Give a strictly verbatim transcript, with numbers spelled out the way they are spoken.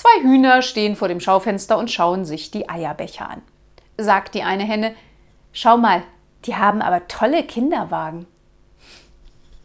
Zwei Hühner stehen vor dem Schaufenster und schauen sich die Eierbecher an. Sagt die eine Henne: »Schau mal, die haben aber tolle Kinderwagen.«